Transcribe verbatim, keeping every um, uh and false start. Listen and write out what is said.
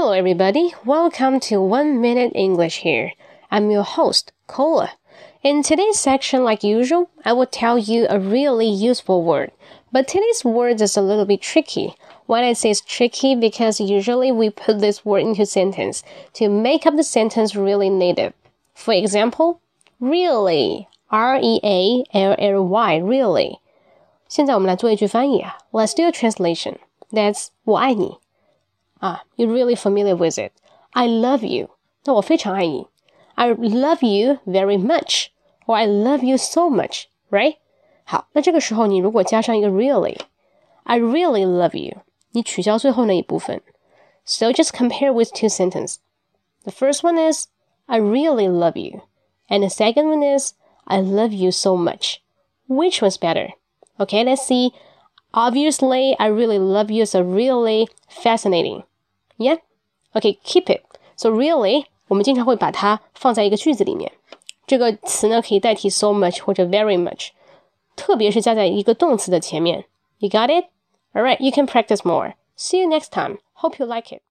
Hello everybody, welcome to One Minute English here. I'm your host, Cola. In today's section, like usual, I will tell you a really useful word. But today's word is a little bit tricky. Why I say it's tricky? Because usually we put this word into sentence to make up the sentence really native. For example, really, R E A L L Y, really. 现在我们来做一句翻译啊。Let's do a translation. That's 我爱你。啊 you're really familiar with it. I love you. 那我非常爱你。I love you very much. Or I love you so much, right? 好，那这个时候你如果加上一个 really, I really love you. 你取消最后那一部分。So just compare with two sentences. The first one is, I really love you. And the second one is, I love you so much. Which one's better? Okay, let's see. Obviously, I really love you is a really fascinating. Yeah? Okay, keep it. So really, 我们经常会把它放在一个句子里面。这个词呢，可以代替 so much 或者 very much. 特别是加在一个动词的前面。You got it? Alright, you can practice more. See you next time. Hope you like it.